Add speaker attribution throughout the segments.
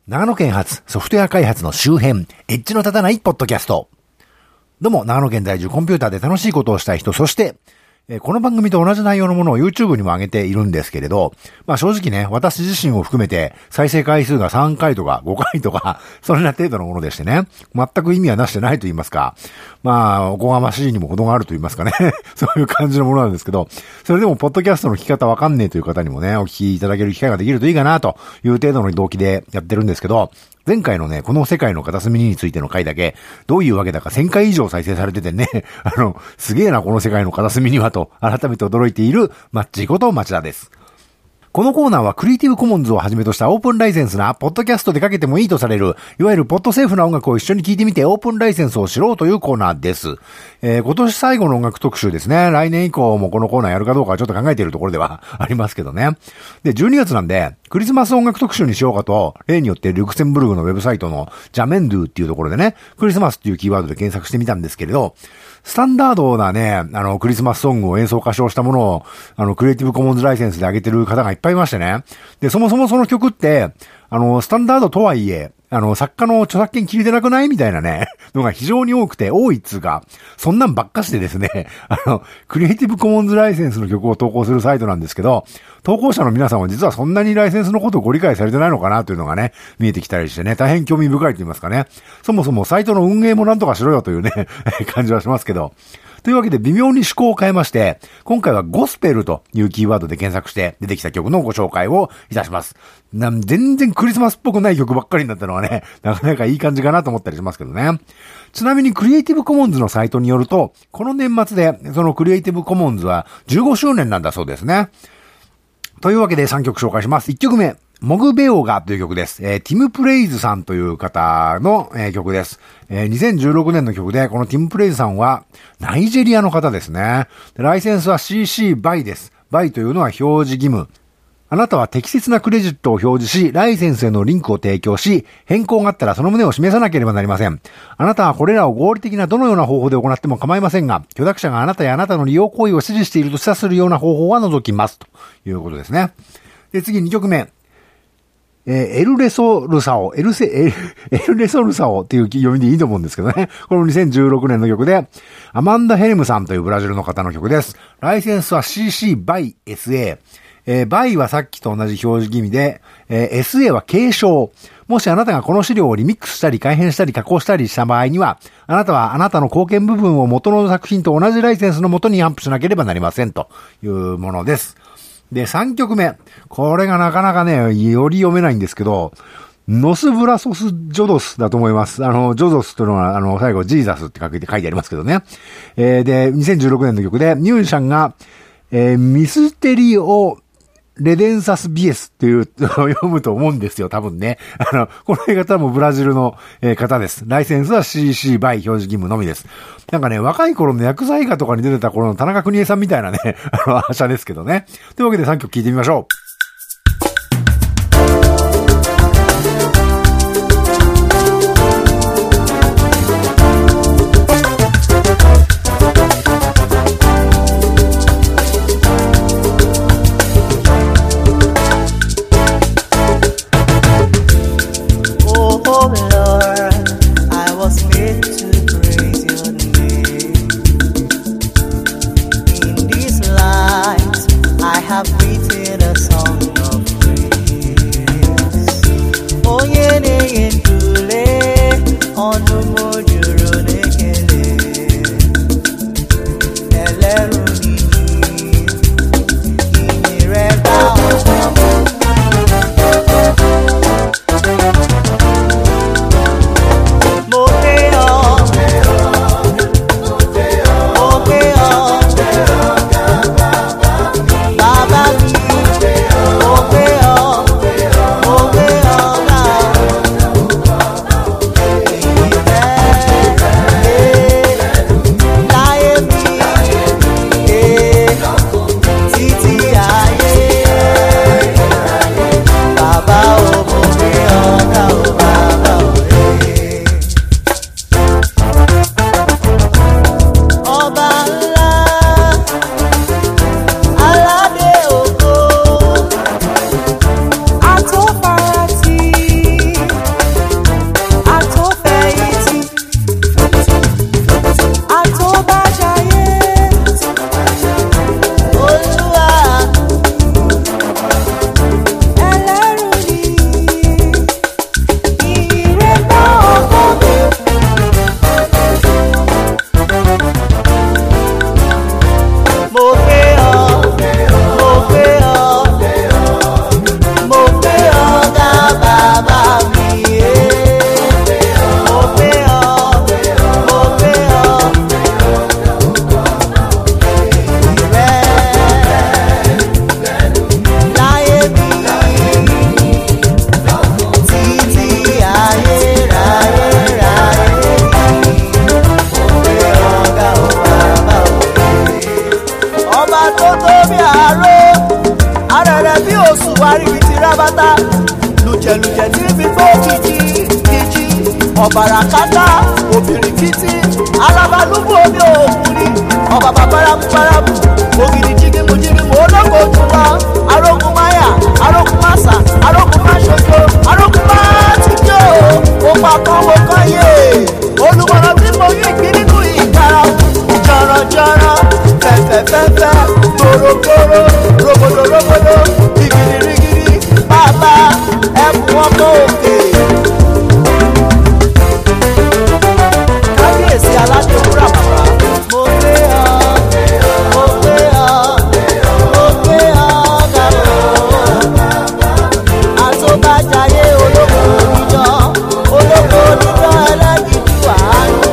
Speaker 1: 長野県発ソフトウェア開発の周辺、エッジの立たないポッドキャスト。どうも、長野県在住コンピューターで楽しいことをしたい人、そして、この番組と同じ内容のものを YouTube にも上げているんですけれど、正直ね、私自身を含めて再生回数が3回とか5回とか、それな程度のものでしてね、全く意味はなしてないと言いますか、おこがましいにも程があると言いますかね、そういう感じのものなんですけど、それでもポッドキャストの聞き方わかんねえという方にもね、お聞きいただける機会ができるといいかなという程度の動機でやってるんですけど、前回のね、この世界の片隅についての回だけ、どういうわけだか1000回以上再生されててね、すげえなこの世界の片隅にはと、改めて驚いているマッチーこと町田です。このコーナーはクリエイティブコモンズをはじめとしたオープンライセンスな、ポッドキャストでかけてもいいとされる、いわゆるポッドセーフな音楽を一緒に聴いてみてオープンライセンスを知ろうというコーナーです。今年最後の音楽特集ですね。来年以降もこのコーナーやるかどうかはちょっと考えているところではありますけどね。で、12月なんで、クリスマス音楽特集にしようかと、例によってルクセンブルグのウェブサイトのジャメンドゥっていうところでね、クリスマスっていうキーワードで検索してみたんですけれど、スタンダードなね、クリスマスソングを演奏歌唱したものを、クリエイティブコモンズライセンスで上げてる方がいっぱいいましてね。で、そもそもその曲って、スタンダードとはいえ、作家の著作権切れてなくないみたいなね、のが非常に多くて、多いっつうか、そんなんばっかしてですね、クリエイティブコモンズライセンスの曲を投稿するサイトなんですけど、投稿者の皆さんは実はそんなにライセンスのことをご理解されてないのかなというのがね、見えてきたりしてね、大変興味深いと言いますかね。そもそもサイトの運営もなんとかしろよというね、感じはしますけど。というわけで微妙に趣向を変えまして、今回はゴスペルというキーワードで検索して出てきた曲のご紹介をいたします。全然クリスマスっぽくない曲ばっかりになったのはね、なかなかいい感じかなと思ったりしますけどね。ちなみにクリエイティブコモンズのサイトによると、この年末でそのクリエイティブコモンズは15周年なんだそうですね。というわけで3曲紹介します。1曲目。モグベオガという曲です。ティム・プレイズさんという方の、曲です。2016年の曲で、このティム・プレイズさんはナイジェリアの方ですね。ライセンスは CC BY です。BY というのは表示義務。あなたは適切なクレジットを表示し、ライセンスへのリンクを提供し、変更があったらその旨を示さなければなりません。あなたはこれらを合理的などのような方法で行っても構いませんが、許諾者があなたやあなたの利用行為を指示していると示唆するような方法は除きます。ということですね。で、次2曲目。エルレソルサオっていう読みでいいと思うんですけどね。これも2016年の曲で、アマンダ・ヘルムさんというブラジルの方の曲です。ライセンスは CC BY SA。BY はさっきと同じ表示義務で、SA は継承。もしあなたがこの資料をリミックスしたり改変したり加工したりした場合には、あなたはあなたの貢献部分を元の作品と同じライセンスの元にアップしなければなりませんというものです。で、3曲目。これがなかなかね、より読めないんですけど、ノスブラソス・ジョドスだと思います。ジョドスというのは、最後、ジーザスって書いてありますけどね。で、2016年の曲で、ミュージシャンが、ミステリオ・レデンサス・ビエスっていう読むと思うんですよ、多分ね。この方もブラジルの、方です。ライセンスは CC BY 表示義務のみです。なんかね、若い頃の薬剤画とかに出てた頃の田中邦衛さんみたいなね、アシャですけどね。というわけで3曲聴いてみましょう。
Speaker 2: Have written a song. ọ̀bàràkátà òbìrìkìtì alábàlúbù omi òkùnrin ọba bàbáramúbáramú ògìrì jígímù ológo jùlọ arógun máyà arógun máṣà arógun máṣojo arógun máṣíjó òpá kan mo kàn yé olùmọ̀ràn tí mo rí ìgbín nínú ìkara jọ̀rọ̀jọ̀rọ̀ fẹ̀fẹ̀fẹ̀fẹ̀ gbòrògbòrò rògbòdòrògbòdò rigirigiri bàbá ẹkùn ọmọ òkè. kábíyèsí aládé wúrà bàbá mo gbé ọ mo gbé ọ mo gbé ọ gàbọ̀ àtọ́bàjáyé olóko onídán ẹlẹ́gìdì wàhálù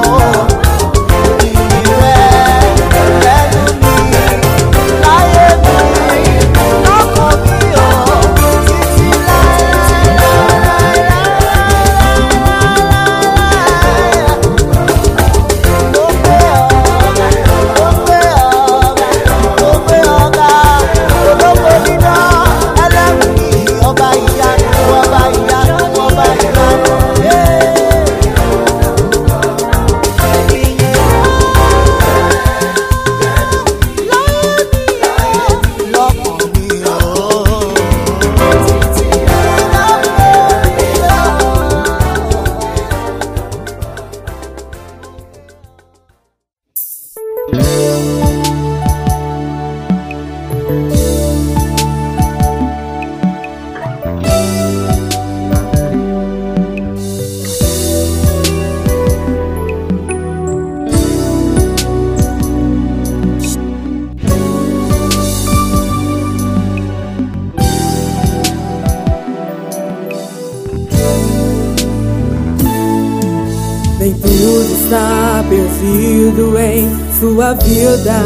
Speaker 3: Nem tudo está perdido em sua vida.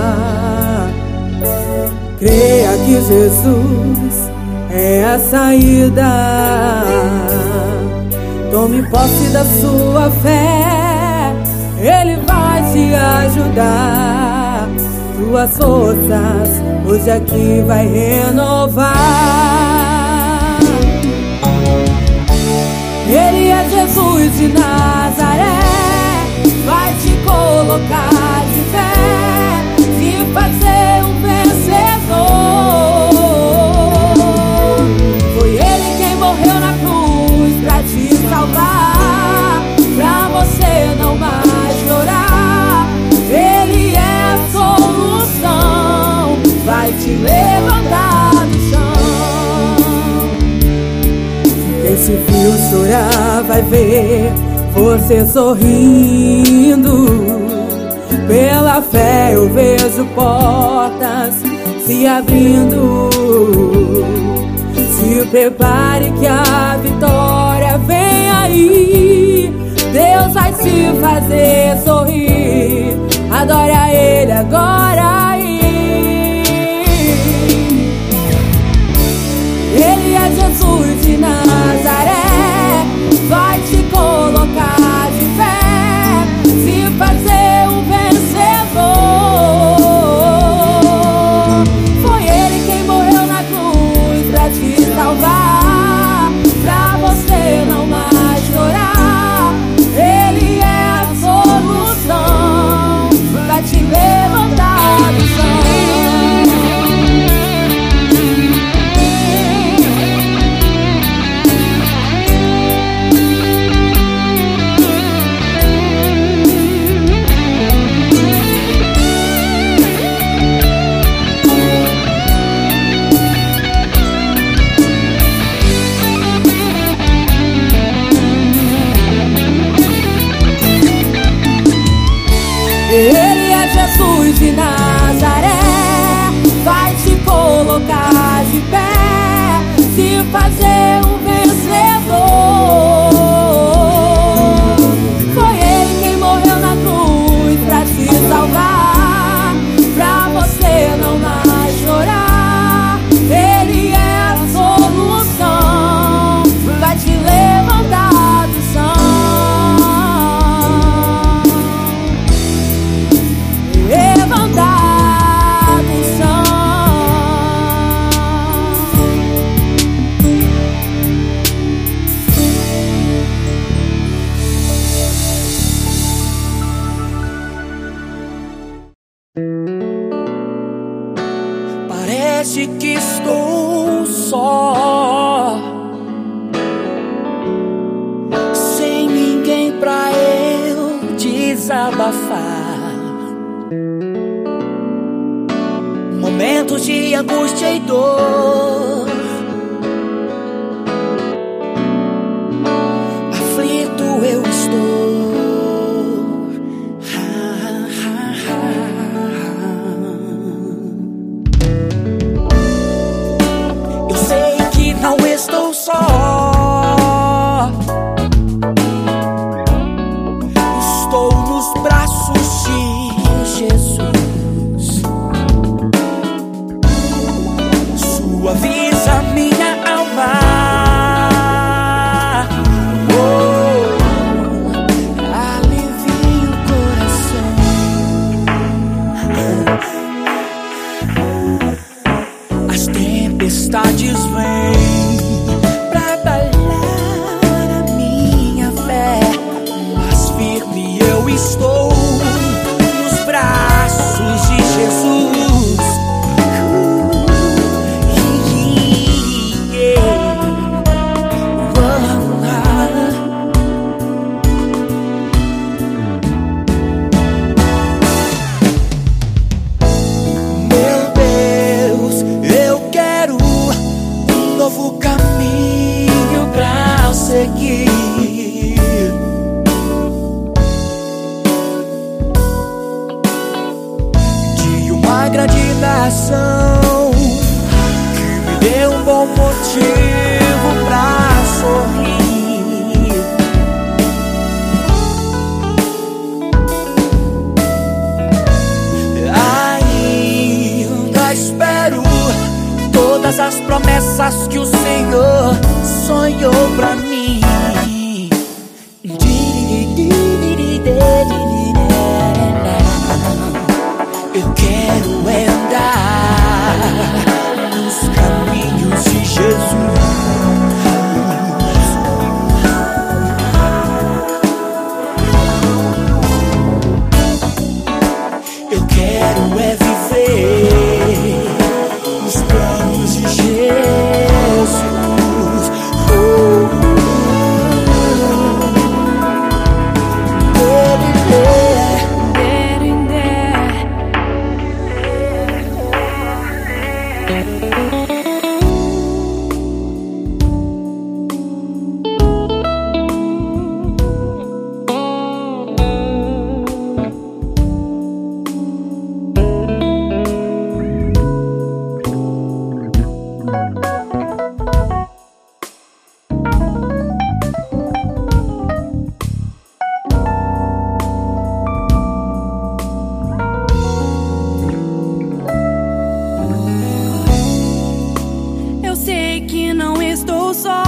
Speaker 3: Creia que Jesus é a saída. Tome posse da sua fé, Ele vai te ajudar. Tuas forças hoje aqui vai renovar. Ele é Jesus de Nazaré, vai te colocar de pé, te fazer um vencedor. Foi Ele quem morreu na cruz pra te salvar, pra você não mais chorar. Ele é a solução, vai te levantar do chão. Quem se viu chorar vai ver você sorrindo. Pela fé eu vejo portas se abrindo. Se prepare que a vitória vem aí. Deus vai te fazer sorrir. Adore a Ele agora aí. Ele é Jesus de Nazaré, vai te colocar de pé, te fazer um vencedor. Foi Ele quem morreu na cruz pra te salvar, pra você não mais chorar. Ele é a solução, vai te levantar do chão. Ele é Jesus de Nazaré, vai te colocar de pé, te fazer um vencedor. Foi Ele quem morreu na cruz pra te salvar, pra você não mais chorar. Ele é a solução, vai te levantar do chão. Levantar do chão.
Speaker 4: estou só, sem ninguém pra eu desabafar. Momentos de angústia e dor, aflito eu estou. Eu sei que não estou só, estou nos braços de Jesus. Suaviza minha alma, alivia o coração. As tempestades vêm pra abalar a minha fé, mas firme eu estou nos braços de Jesus. Meu Deus, eu quero um novo caminho pra seguir. De uma grande nação que me deu um bom motivo pra sorrir. Ainda espero todas as promessas que o Senhor sonhou pra mim. Eu quero andar nos caminhos de Jesus. Eu quero viver nos planos de Jesus.
Speaker 3: Eu sei que não estou só,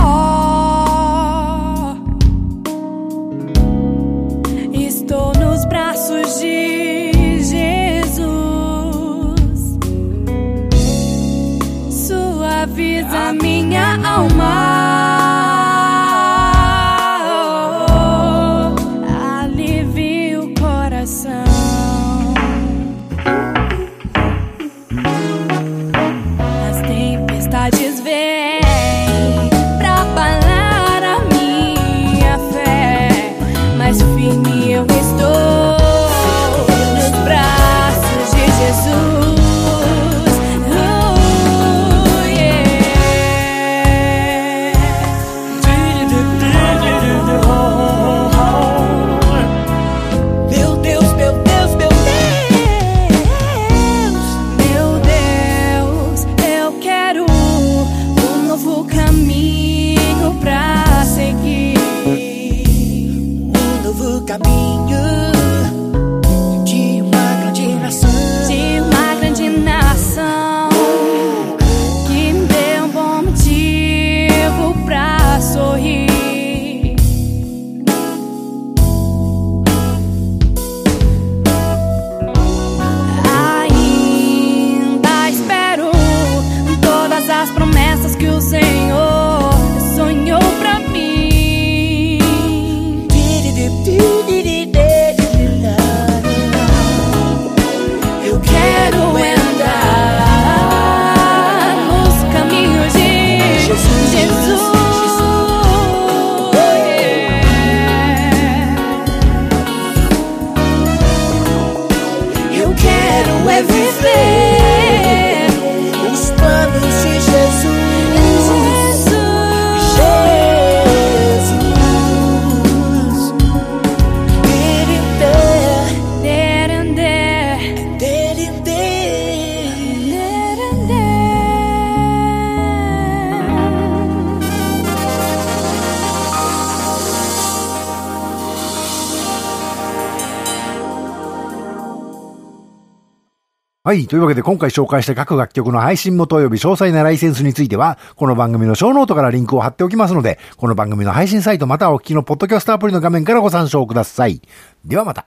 Speaker 3: estou nos braços de Jesus. Suaviza minha alma, alivia o coração. As tempestades vêm pra abalar a minha fé, mas firme eu estou nos braços de Jesus.
Speaker 4: Meu Deus, meu Deus, meu
Speaker 3: Meu Deus, eu quero um novo caminho pra seguir.
Speaker 4: Um novo caminho de uma grande nação.
Speaker 3: De uma grande nação que me deu um bom motivo pra sorrir. Ainda espero todas as promessas que o Senhor sonhou pra mim.
Speaker 1: はい。というわけで今回紹介した各楽曲の配信元及び詳細なライセンスについては、この番組のショーノートからリンクを貼っておきますので、この番組の配信サイトまたはお聞きのポッドキャストアプリの画面からご参照ください。ではまた。